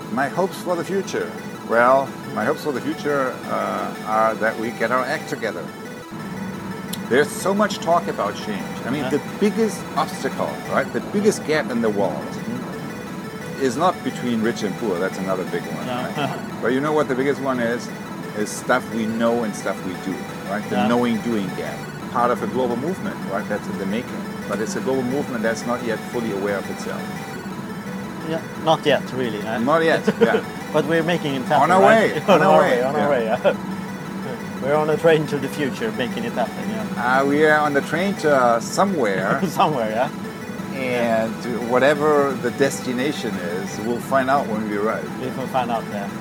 my hopes for the future. Well, my hopes for the future are that we get our act together. There's so much talk about change. I mean, the biggest obstacle, right, the biggest gap in the world is not between rich and poor. That's another big one. Right? But you know what the biggest one is? Is stuff we know and stuff we do, right? The knowing-doing gap. Part of a global movement, right? That's in the making. But it's a global movement that's not yet fully aware of itself. Yeah, not yet, really. Not yet, yeah. But we're making it happen, On our way. On our way, yeah. We're on a train to the future, making it happen, yeah. We are on the train to somewhere. Somewhere, yeah. And whatever the destination is, we'll find out when we arrive. We will find out, yeah.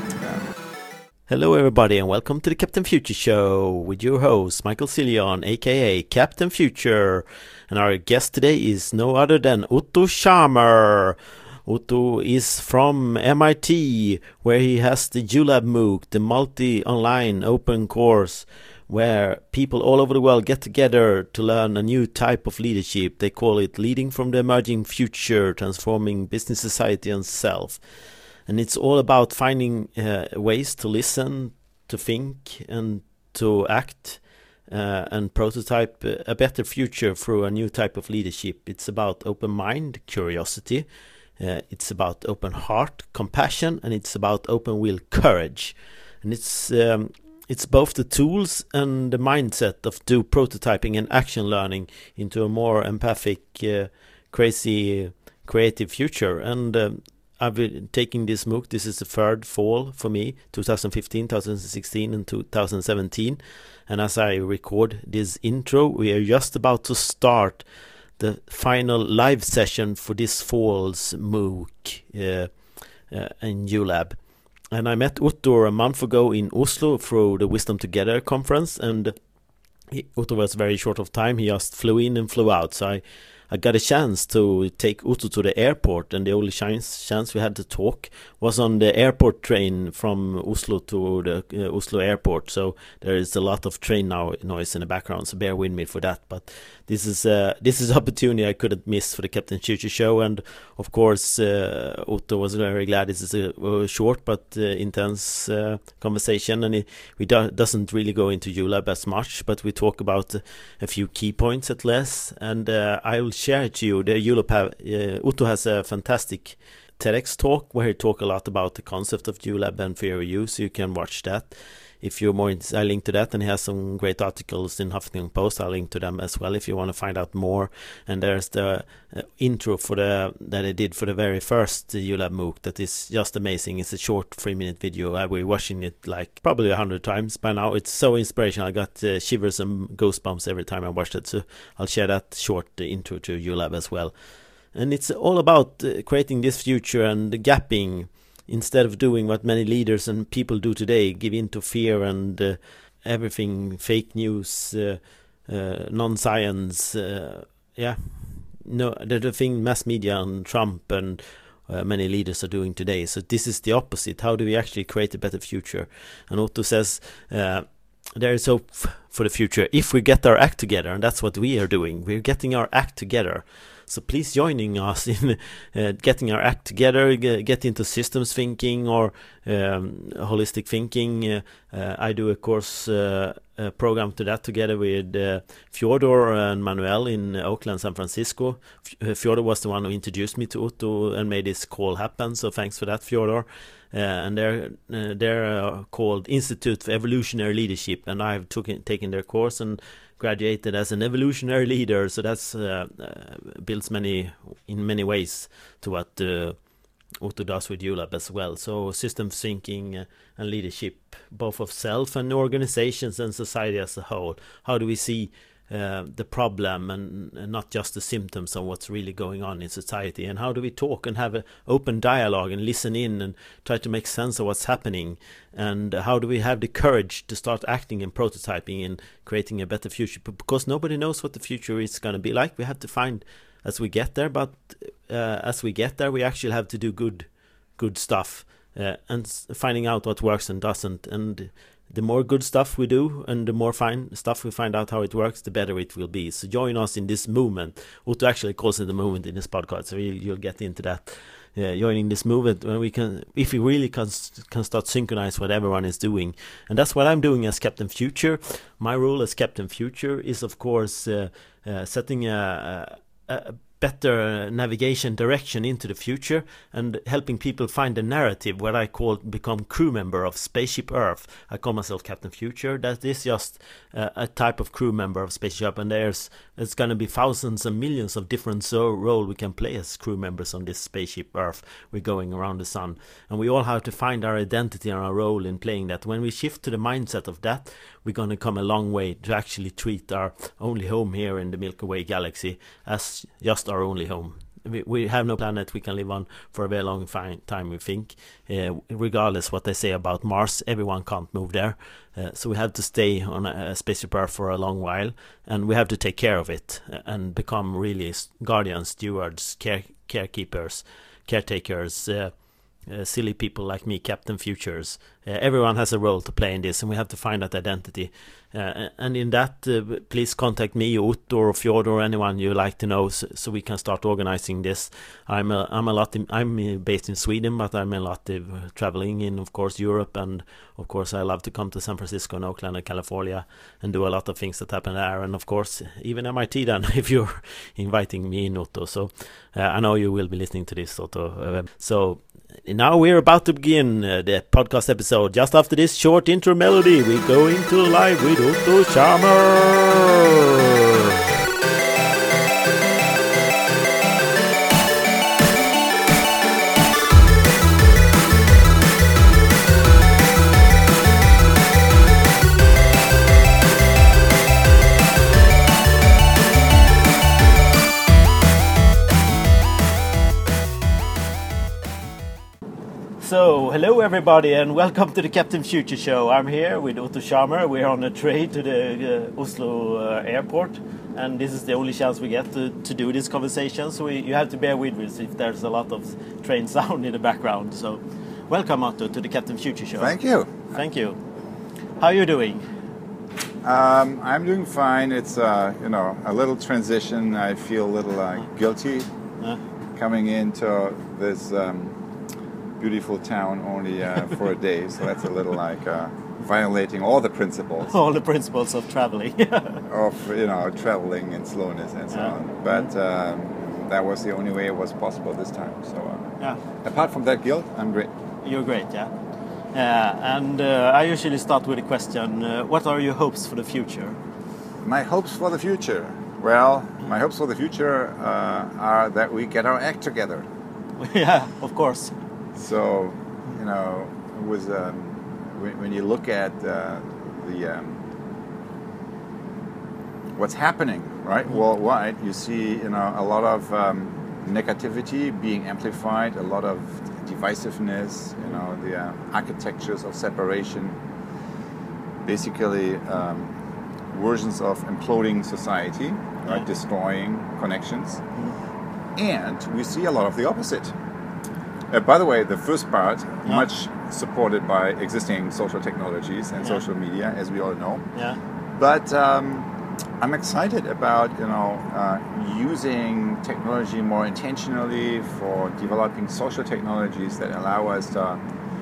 Hello everybody and welcome to the Captain Future Show with your host Michael Cillian, aka Captain Future. And our guest today is no other than Otto Scharmer. Otto is from MIT, where he has the ULab MOOC, the multi-online open course, where people all over the world get together to learn a new type of leadership. They call it Leading from the Emerging Future, Transforming Business, Society and Self. And it's all about finding ways to listen, to think and to act and prototype a better future through a new type of leadership. It's about open mind, curiosity. It's about open heart, compassion, and it's about open will, courage. And it's both the tools and the mindset of do prototyping and action learning into a more empathic, crazy, creative future. And I've been taking this MOOC. This is the third fall for me, 2015, 2016 and 2017. And as I record this intro, we are just about to start the final live session for this fall's MOOC in ULab. And I met Otto a month ago in Oslo through the Wisdom Together conference. And Otto was very short of time. He just flew in and flew out. So I got a chance to take Otto to the airport, and the only chance we had to talk was on the airport train from Oslo to the Oslo airport. So there is a lot of train noise in the background, so bear with me for that. But this is an opportunity I couldn't miss for the Captain Future Show, and of course Otto was very glad. This is a short but intense conversation, and we doesn't really go into ULab as much, but we talk about a few key points at least, and I will share it to you. The ULab Otto has a fantastic TEDx talk where he talk a lot about the concept of ULab and fear of use, so you can watch that if you're more I link to that, and he has some great articles in Huffington Post. I'll link to them as well if you want to find out more. And there's the intro for that I did for the very first ULab MOOC that is just amazing. It's a short 3-minute video. I will be watching it like probably 100 times by now. It's so inspirational. I got shivers and goosebumps every time I watched it, so I'll share that short intro to ULab as well. And it's all about creating this future and the gapping, instead of doing what many leaders and people do today, give in to fear and everything, fake news, non-science, the thing mass media and Trump and many leaders are doing today. So this is the opposite. How do we actually create a better future? And Otto says there is hope for the future if we get our act together, and that's what we are doing. We're getting our act together. So please joining us in getting our act together, get into systems thinking or holistic thinking. I do a course program to that together with Fyodor and Manuel in Oakland, San Francisco. Fyodor was the one who introduced me to Otto and made this call happen. So thanks for that, Fyodor. And they're called Institute for Evolutionary Leadership, and I've taken their course and graduated as an evolutionary leader. So that's builds in many ways to what Otto does with ULab as well. So systems thinking and leadership, both of self and organizations and society as a whole. How do we see the problem and not just the symptoms of what's really going on in society? And how do we talk and have an open dialogue and listen in and try to make sense of what's happening? And how do we have the courage to start acting and prototyping and creating a better future? Because nobody knows what the future is going to be like. We have to find as we get there, but as we get there, we actually have to do good stuff and finding out what works and doesn't. And the more good stuff we do and the more fine stuff we find out how it works, the better it will be. So join us in this movement. Otto actually calls it the movement in this podcast, so you'll get into that. joining this movement, when we can, if we really can start synchronize what everyone is doing. And that's what I'm doing as Captain Future. My role as Captain Future is, of course, setting a better navigation direction into the future and helping people find a narrative, what I call become crew member of Spaceship Earth. I call myself Captain Future. That is just a type of crew member of Spaceship, and it's going to be thousands and millions of different role we can play as crew members on this Spaceship Earth. We're going around the sun, and we all have to find our identity and our role in playing that. When we shift to the mindset of that, we're going to come a long way to actually treat our only home here in the Milky Way galaxy as just our only home. We have no planet we can live on for a very long time, we think. Regardless what they say about Mars, everyone can't move there. So we have to stay on a spaceship Earth for a long while, and we have to take care of it and become really guardians, stewards, caretakers, silly people like me, Captain Futures. Everyone has a role to play in this, and we have to find that identity. And in that, please contact me, Otto or Fjodor, or anyone you like to know, so we can start organizing this. I'm based in Sweden, but I'm a lot traveling in, of course, Europe, and of course I love to come to San Francisco and Oakland and California and do a lot of things that happen there, and of course even MIT then, if you're inviting me in, Otto. So I know you will be listening to this, Otto. So now we're about to begin the podcast episode. Just after this short intro melody, we go into live with Otto Scharmer. So, hello everybody and welcome to the Captain Future Show. I'm here with Otto Scharmer. We're on a train to the Oslo airport, and this is the only chance we get to do this conversation, so you have to bear with us if there's a lot of train sound in the background. So, welcome Otto to the Captain Future Show. Thank you. Thank you. How are you doing? I'm doing fine. It's a little transition. I feel a little guilty coming into this beautiful town only for a day, so that's a little like violating all the principles. All the principles of traveling. of traveling and slowness and so on. But that was the only way it was possible this time. So apart from that guilt, I'm great. You're great, yeah. And I usually start with a question. What are your hopes for the future? My hopes for the future? Well, my hopes for the future are that we get our act together. Yeah, of course. So, it was when you look at what's happening, right, worldwide, you see, a lot of negativity being amplified, a lot of divisiveness, the architectures of separation, basically versions of imploding society, right, destroying connections, and we see a lot of the opposite. By the way, the first part, much supported by existing social technologies and social media, as we all know. Yeah. But I'm excited about, using technology more intentionally for developing social technologies that allow us to,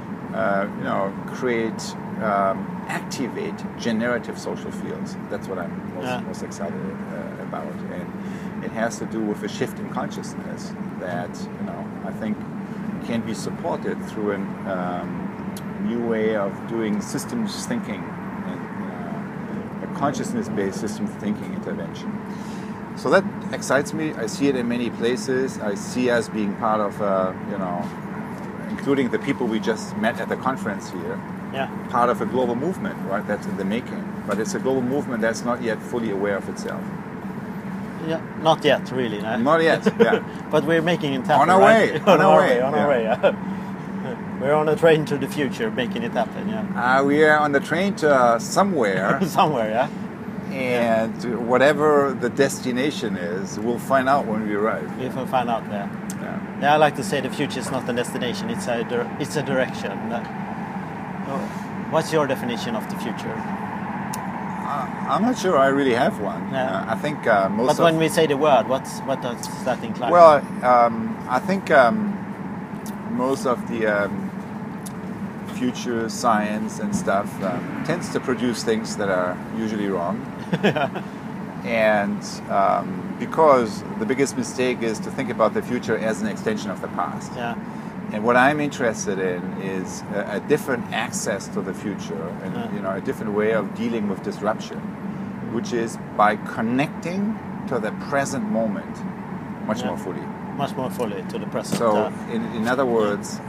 create, activate generative social fields. That's what I'm most excited about. And it has to do with a shift in consciousness that, I think can be supported through a new way of doing systems thinking and a consciousness-based systems thinking intervention. So that excites me. I see it in many places. I see us being part of, including the people we just met at the conference here, part of a global movement, right? That's in the making. But it's a global movement that's not yet fully aware of itself. Yeah, not yet, really. No? Not yet, yeah. But we're making it happen, On our way. On our way. We're on a train to the future, making it happen, we are on the train to somewhere. Somewhere, yeah. And whatever the destination is, we'll find out when we arrive. We will find out, Yeah, I like to say the future is not a destination, it's a direction. What's your definition of the future? I'm not sure I really have one. I think most. But when we say the word, what does that imply? Well, I think most of the future science and stuff tends to produce things that are usually wrong. And because the biggest mistake is to think about the future as an extension of the past. Yeah. And what I'm interested in is a different access to the future, and a different way of dealing with disruption, which is by connecting to the present moment much more fully. Much more fully to the present. So, in other words,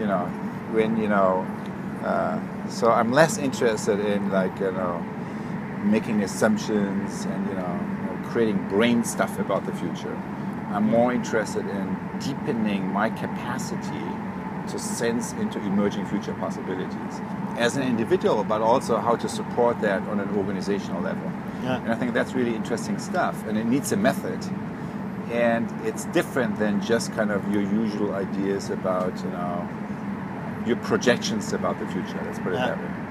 so I'm less interested in making assumptions and creating brain stuff about the future. I'm more interested in deepening my capacity to sense into emerging future possibilities as an individual, but also how to support that on an organizational level. Yeah. And I think that's really interesting stuff, and it needs a method. And it's different than just kind of your usual ideas about, your projections about the future. Let's put it that way.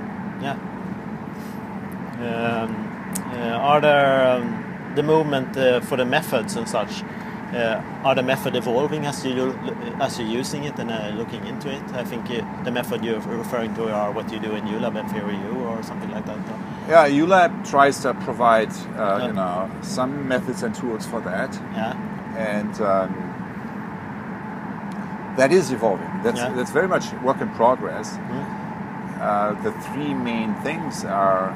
Yeah. Are there the movement for the methods and such? Are the method evolving as you're using it and looking into it? I think the method you're referring to are what you do in ULab and FairyU or something like that. Yeah, ULab tries to provide some methods and tools for that. Yeah. And that is evolving. That's very much work in progress. Mm-hmm. The three main things are,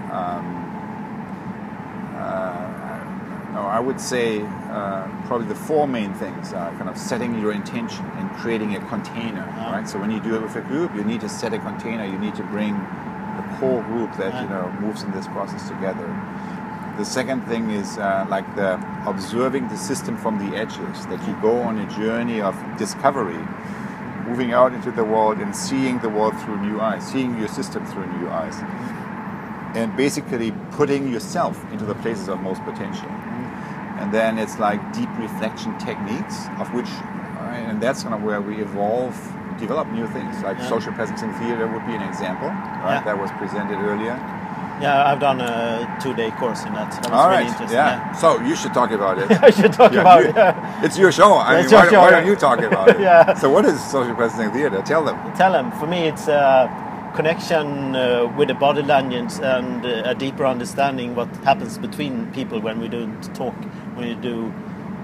I would say probably the four main things are kind of setting your intention and creating a container, right? So when you do it with a group, you need to set a container. You need to bring the core group that moves in this process together. The second thing is the observing the system from the edges, that you go on a journey of discovery, moving out into the world and seeing the world through new eyes, seeing your system through new eyes, and basically putting yourself into the places of most potential. And then it's like deep reflection techniques, of which, and that's kind of where we develop new things, like social presence in theater would be an example, right? That was presented earlier. Yeah, I've done a 2-day course in that. So that was really interesting. Yeah. So you should talk about it. I should talk about it. It's your show. I mean, why don't you talk about it? So what is social presence in theater? Tell them. For me, it's a connection with the body language and a deeper understanding what happens between people when we don't talk. When you do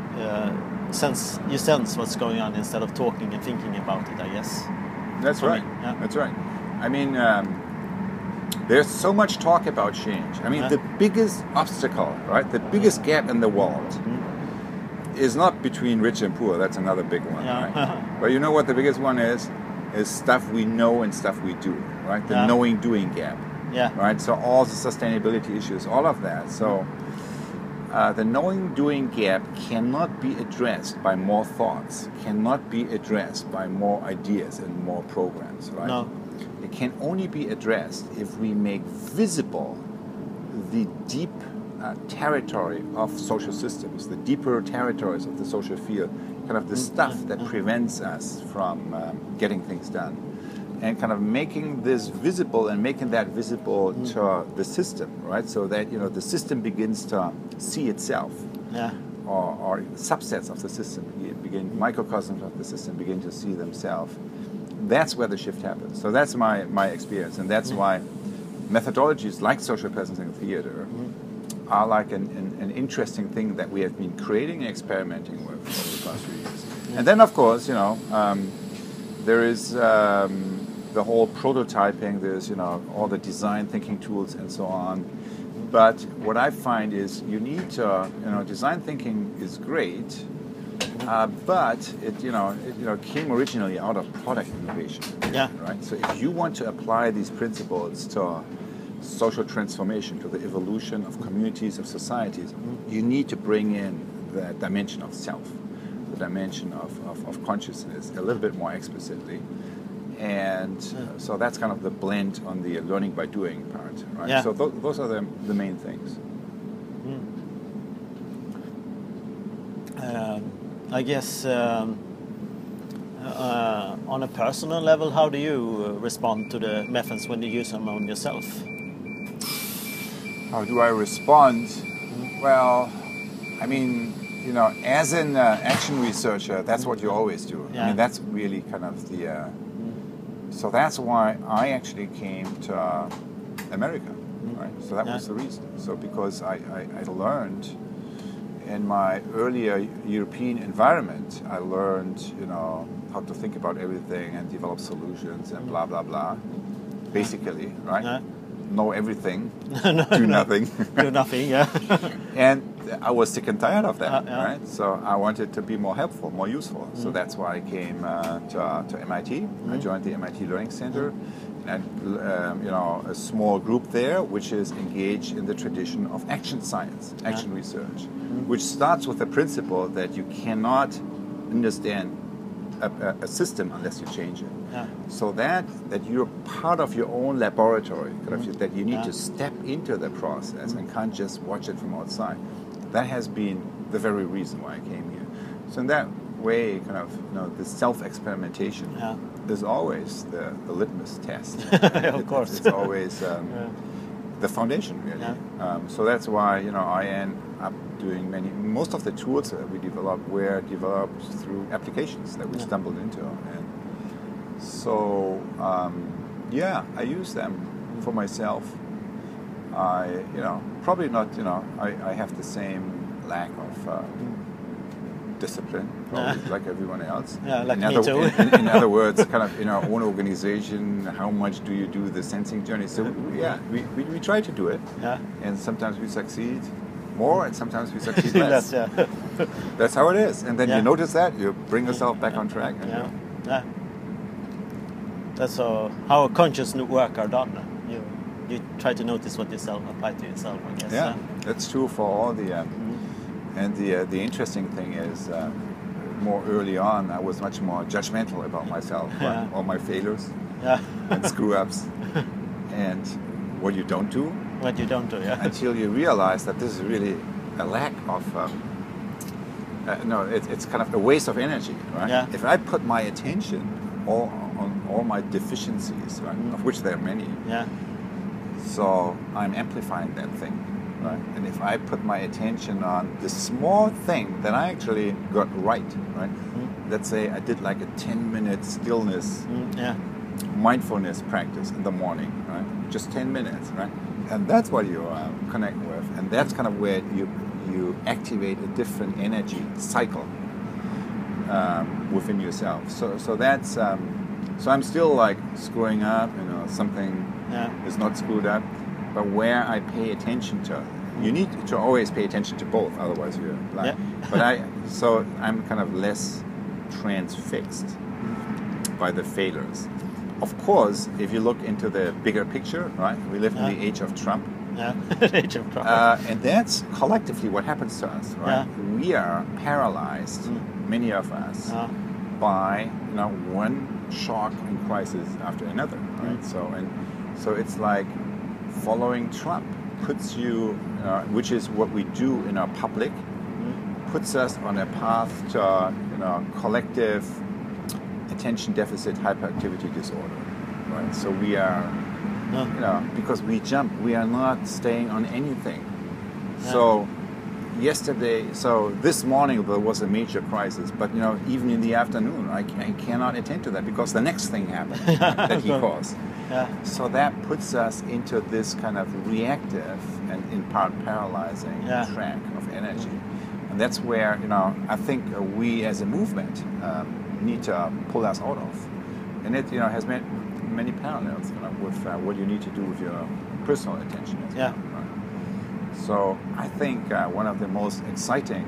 sense what's going on instead of talking and thinking about it, I guess. That's right. That's right. I mean, there's so much talk about change. I mean, the biggest obstacle, right? The biggest gap in the world is not between rich and poor. That's another big one, right? But you know what the biggest one is? Is stuff we know and stuff we do, right? The knowing-doing gap, right? So all the sustainability issues, all of that. So the knowing-doing gap cannot be addressed by more thoughts, cannot be addressed by more ideas and more programs, right? No. It can only be addressed if we make visible the deep territory of social systems, the deeper territories of the social field, kind of the stuff that prevents us from getting things done. And kind of making this visible and making that visible to the system, right? So that, the system begins to see itself. Yeah. Or subsets of the system, microcosms of the system begin to see themselves. That's where the shift happens. So that's my experience, and that's why methodologies like social presence in theater are like an interesting thing that we have been creating and experimenting with over the past few years. And then, of course, there is the whole prototyping. There's all the design thinking tools and so on. But what I find is you need to design thinking is great. But it came originally out of product innovation. Yeah. Right. So if you want to apply these principles to social transformation, to the evolution of communities, of societies, you need to bring in the dimension of self, the dimension of consciousness a little bit more explicitly. And so that's kind of the blend on the learning by doing part. Right. Yeah. So those are the main things. I guess on a personal level, how do you respond to the methods when you use them on yourself? How do I respond? Well, I mean, as an action researcher, that's what you always do. Yeah. I mean, that's really kind of the. So that's why I actually came to America, right? So that was the reason. So because I learned in my earlier European environment, I learned, how to think about everything and develop solutions and blah blah blah. Basically, right? Yeah. Know everything, do nothing. Do nothing, yeah. And I was sick and tired of that, yeah. right? So I wanted to be more helpful, more useful. So that's why I came to MIT. I joined the MIT Learning Center, and a small group there, which is engaged in the tradition of action science, action research, which starts with the principle that you cannot understand a system unless you change it. Yeah. So that you're part of your own laboratory, that you need to step into the process and can't just watch it from outside. That has been the very reason why I came here. So in that way, the self-experimentation is always the litmus test. Of course. It's always the foundation, really. Yeah. So that's why I end up doing most of the tools that we developed were developed through applications that we stumbled into, and so I use them for myself. I probably not I have the same lack of discipline, probably like everyone else. Yeah, like me too. In other words, kind of in our own organization, how much do you do the sensing journey? So we try to do it, and sometimes we succeed more, and sometimes we succeed less. That's how it is. And then you notice that, you bring yourself back on track. And That's how conscious work are done. You try to notice what yourself apply to yourself, I guess. Yeah, that's true for all the. And the interesting thing is, more early on, I was much more judgmental about myself, all my failures and screw-ups, and what you don't do. What you don't do, Until you realize that this is really a lack of. It's kind of a waste of energy, right? Yeah. If I put my attention on all my deficiencies, right, of which there are many. So I'm amplifying that thing. Right. And if I put my attention on the small thing that I actually got right? Let's say I did like a 10-minute stillness, mindfulness practice in the morning, right? Just 10 minutes, right? And that's what you connect with, and that's kind of where you activate a different energy cycle within yourself. So that's so I'm still like screwing up, something is not screwed up. But where I pay attention to, you need to always pay attention to both, otherwise you're blind. But I'm kind of less transfixed by the failures. Of course, if you look into the bigger picture, right? We live in the age of Trump. Age of Trump. And that's collectively what happens to us, right? We are paralyzed, many of us, by one shock and crisis after another, right? So it's like following Trump puts you, which is what we do in our public, puts us on a path to collective attention deficit hyperactivity disorder, right? So we are, because we jump, we are not staying on anything. So this morning there was a major crisis, but even in the afternoon, I cannot attend to that because the next thing happened that he caused. So that puts us into this kind of reactive and in part paralyzing track of energy. And that's where, I think we as a movement need to pull us out of. And it, has many parallels with what you need to do with your personal attention as well. Right? So I think one of the most exciting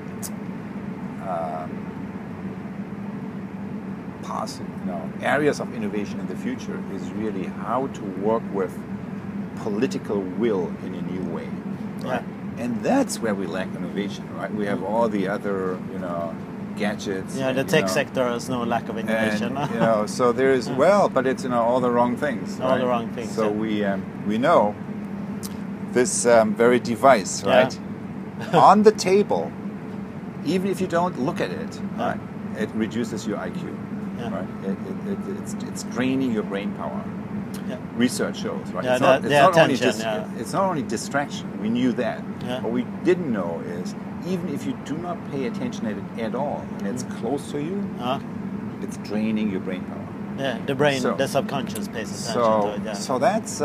areas of innovation in the future is really how to work with political will in a new way. Right? And that's where we lack innovation, right? We have all the other, gadgets. The tech sector has no lack of innovation. And, so there is, but it's, all the wrong things. All the wrong things. So we know this very device, right? On the table, even if you don't look at it, right, it reduces your IQ. right? It's draining your brain power. Yeah. Research shows, right? Yeah, It's not only distraction. We knew that. Yeah. What we didn't know is even if you do not pay attention at all and it's close to you, it's draining your brain power. Yeah, the brain, the subconscious pays attention to it. Yeah. So that's,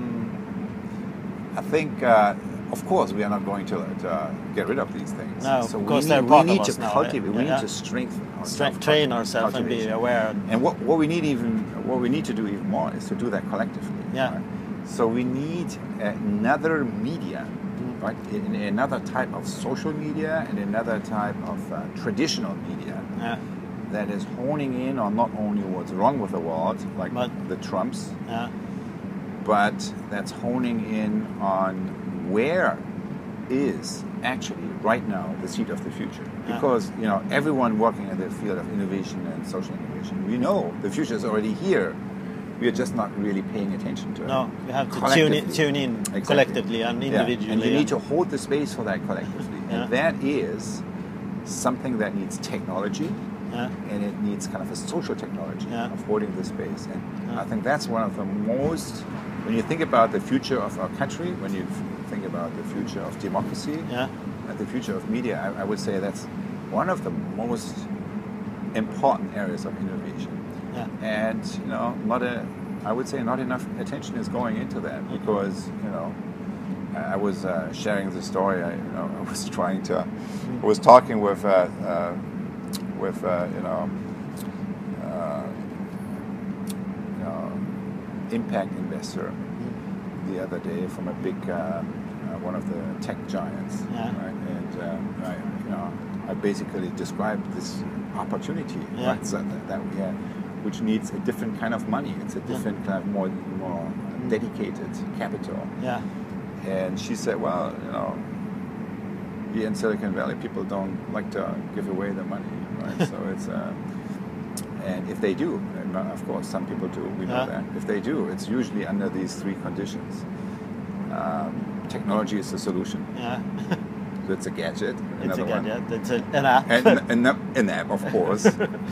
I think, of course, we are not going to get rid of these things. No, so of course, we need to now. cultivate. We need to strengthen ourselves, train ourselves and be aware. And what we need to do even more is to do that collectively. Yeah. Right? So we need another media, right? Another type of social media and another type of traditional media. Yeah. That is honing in on not only what's wrong with the world, like the Trumps, but that's honing in on where is actually right now the seed of the future. Because everyone working in the field of innovation and social innovation, we know the future is already here. We are just not really paying attention to it. No, you have to tune in collectively and individually. And you need to hold the space for that collectively. And that is something that needs technology. And it needs kind of a social technology of holding the space. And I think that's one of the most, when you think about the future of our country, when you think about the future of democracy, and the future of media, I would say that's one of the most important areas of innovation. And I would say not enough attention is going into that because I was sharing the story. I was talking with impact investor the other day from a big one of the tech giants, right? And I basically described this opportunity, right? So that we have, which needs a different kind of money. It's a different kind of more dedicated capital. And she said, well, here in Silicon Valley, people don't like to give away their money, right? So it's, and if they do, and of course some people do, we know that. If they do, it's usually under these three conditions. Technology is the solution. So it's a gadget. It's a gadget. It's an app. An app, of course.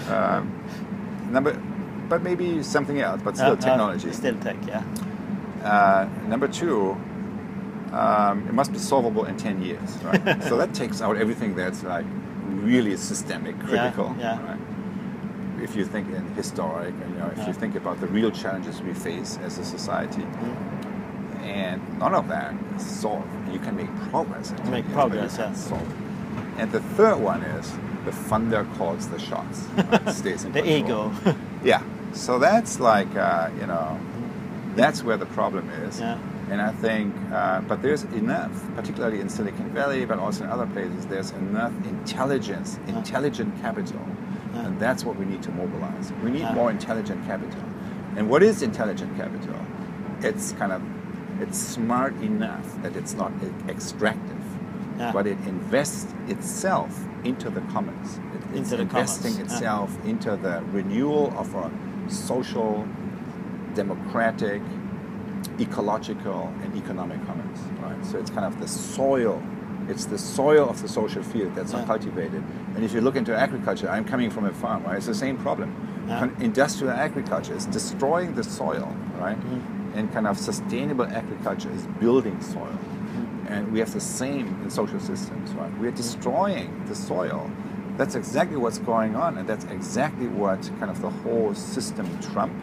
But maybe something else, but still technology. Still tech, Number two. It must be solvable in 10 years, right? So that takes out everything that's like really systemic, critical. Right? If you think in historic, if you think about the real challenges we face as a society, and none of that is solved. You can make progress. Solve. And the third one is the funder calls the shots. Right? Stays in the control. ego. So that's like that's where the problem is. And I think, but there's enough, particularly in Silicon Valley, but also in other places, there's enough intelligence, intelligent capital, and that's what we need to mobilize. We need more intelligent capital. And what is intelligent capital? It's smart enough that it's not extractive, but it invests itself into the commons. It's investing itself into the renewal of a social, democratic, ecological and economic commons, right? So it's kind of the soil. It's the soil of the social field that's not cultivated. And if you look into agriculture, I'm coming from a farm, right? It's the same problem. Industrial agriculture is destroying the soil, right? And kind of sustainable agriculture is building soil. And we have the same in social systems, right? We are destroying the soil. That's exactly what's going on, and that's exactly what kind of the whole system Trump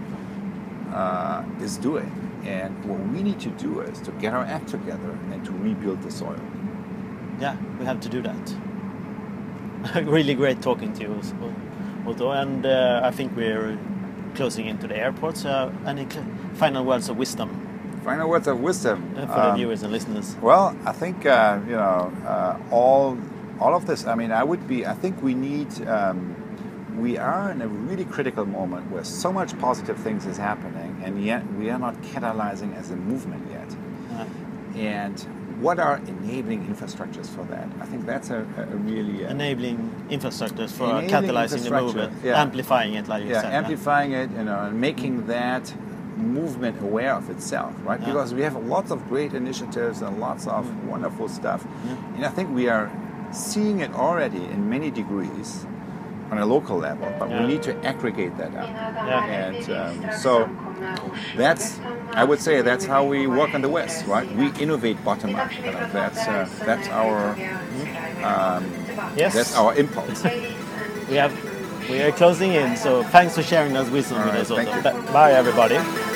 is doing. And what we need to do is to get our act together and to rebuild the soil. Yeah, we have to do that. Really great talking to you, Otto. And I think we're closing into the airport. So any final words of wisdom? Final words of wisdom for the viewers and listeners. Well, I think all of this. I mean, I think we need. We are in a really critical moment where so much positive things is happening, and yet we are not catalyzing as a movement yet. And what are enabling infrastructures for that? I think that's a really... enabling infrastructures for catalyzing the movement, amplifying it, like you said. Amplifying it, and making that movement aware of itself, right? Because we have lots of great initiatives and lots of wonderful stuff. And I think we are seeing it already in many degrees. on a local level, but Yeah. we need to aggregate that up. Yeah. And so I would say that's how we work in the West, right? We innovate bottom up. That's our Yes. that's our impulse. We are closing in, so thanks for sharing that wisdom All with right, us, Otto. thank you. Bye, everybody.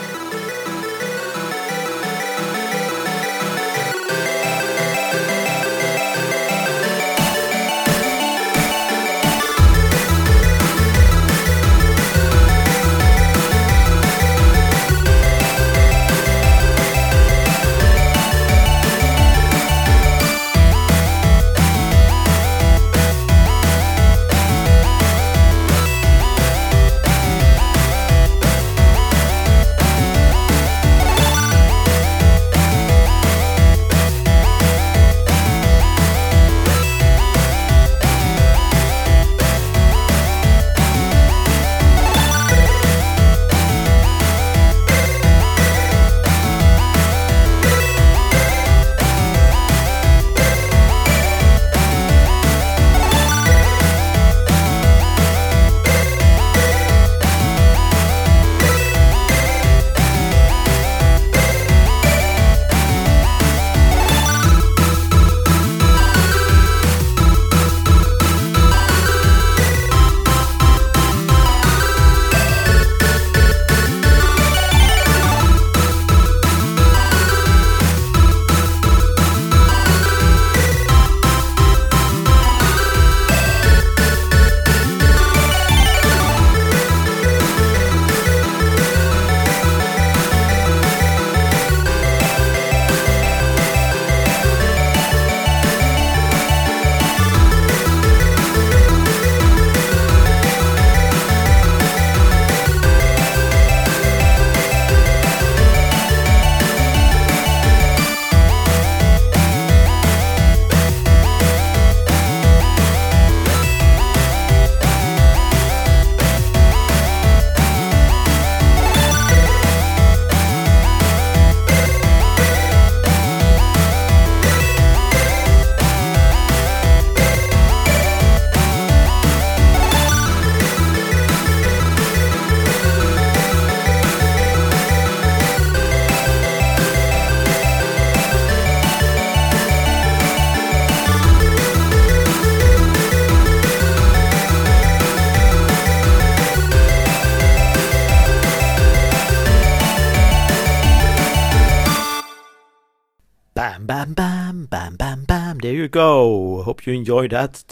Bam, bam, bam, bam, bam, bam. There you go. Hope you enjoyed that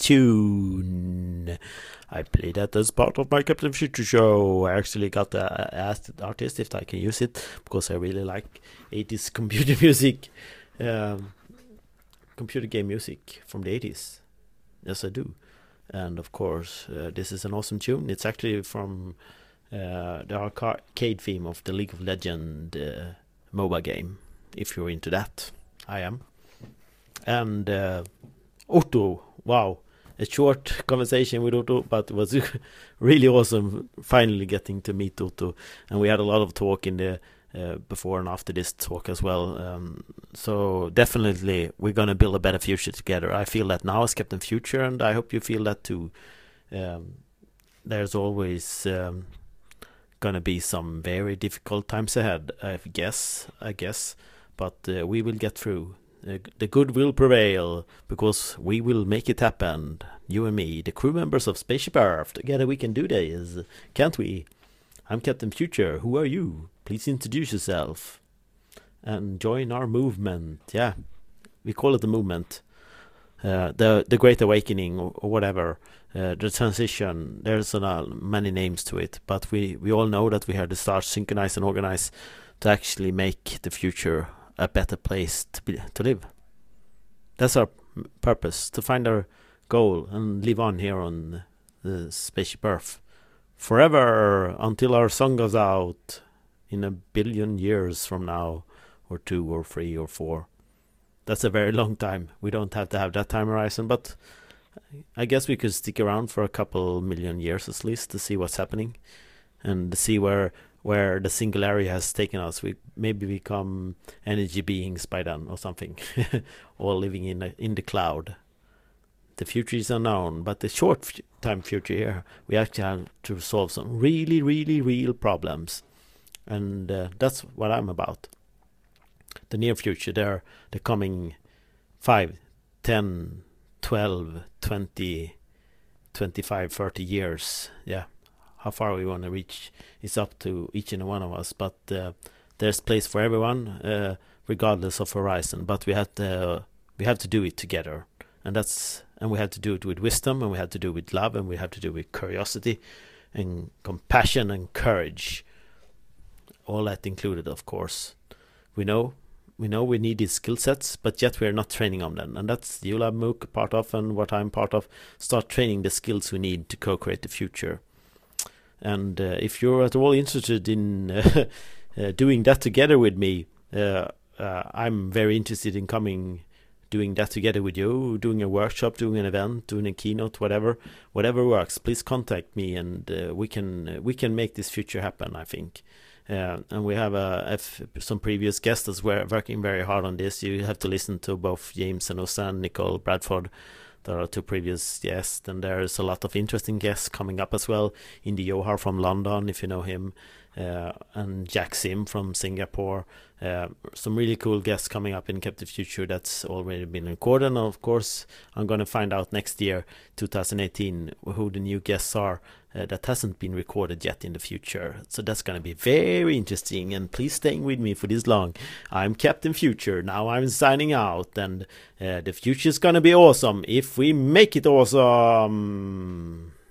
tune. I played that as part of my Captain Future show. I actually got asked the artist if I can use it because I really like 80s computer music, computer game music from the 80s. Yes, I do. And of course, this is an awesome tune. It's actually from the arcade theme of the League of Legends MOBA game, if you're into that. I am. And Otto, wow, a short conversation with Otto, but it was really awesome finally getting to meet Otto. And we had a lot of talk in the before and after this talk as well. So definitely we're going to build a better future together. I feel that now as Captain Future, and I hope you feel that too. There's always going to be some very difficult times ahead, I guess. But we will get through. The good will prevail, because we will make it happen. You and me, the crew members of Spaceship Earth. Together we can do this, can't we? I'm Captain Future. Who are you? Please introduce yourself and join our movement. Yeah, we call it the movement. The Great Awakening or whatever. The transition. There's many names to it, but we all know that we have to start, synchronize and organize to actually make the future a better place to live. That's our purpose, to find our goal and live on here on the Spaceship Earth forever, until our song goes out in 1 billion years from now, or 2 or 3 or 4. That's a very long time. We don't have to have that time horizon, but I guess we could stick around for a couple million years at least to see what's happening and to see where the singularity has taken us. We maybe become energy beings by then or something, or living in the cloud. the future is unknown, but the short-time future here, we actually have to solve some really, really real problems. And that's what I'm about. The near future, the coming 5, 10, 12, 20, 25, 30 years. Yeah, how far we want to reach is up to each and one of us. But there's place for everyone, regardless of horizon. But we have to do it together, and we have to do it with wisdom, and we have to do it with love, and we have to do it with curiosity, and compassion and courage. All that included, of course. We know we need these skill sets, but yet we are not training on them. And that's ULab MOOC part of, and what I'm part of, start training the skills we need to co-create the future. And if you're at all interested in doing that together with me, I'm very interested in doing that together with you, doing a workshop, doing an event, doing a keynote, whatever works. Please contact me, and we can make this future happen, I think. And we have some previous guests as well working very hard on this. You have to listen to both James and Osan, Nicole Bradford. There are 2 previous guests, and there's a lot of interesting guests coming up as well. Indy Johar from London, if you know him, and Jack Sim from Singapore. Some really cool guests coming up in Captive Future that's already been recorded. And of course, I'm going to find out next year, 2018, who the new guests are that hasn't been recorded yet in the future. So that's going to be very interesting, and please stay with me for this long. I'm Captain Future. Now I'm signing out, and the future is going to be awesome if we make it awesome.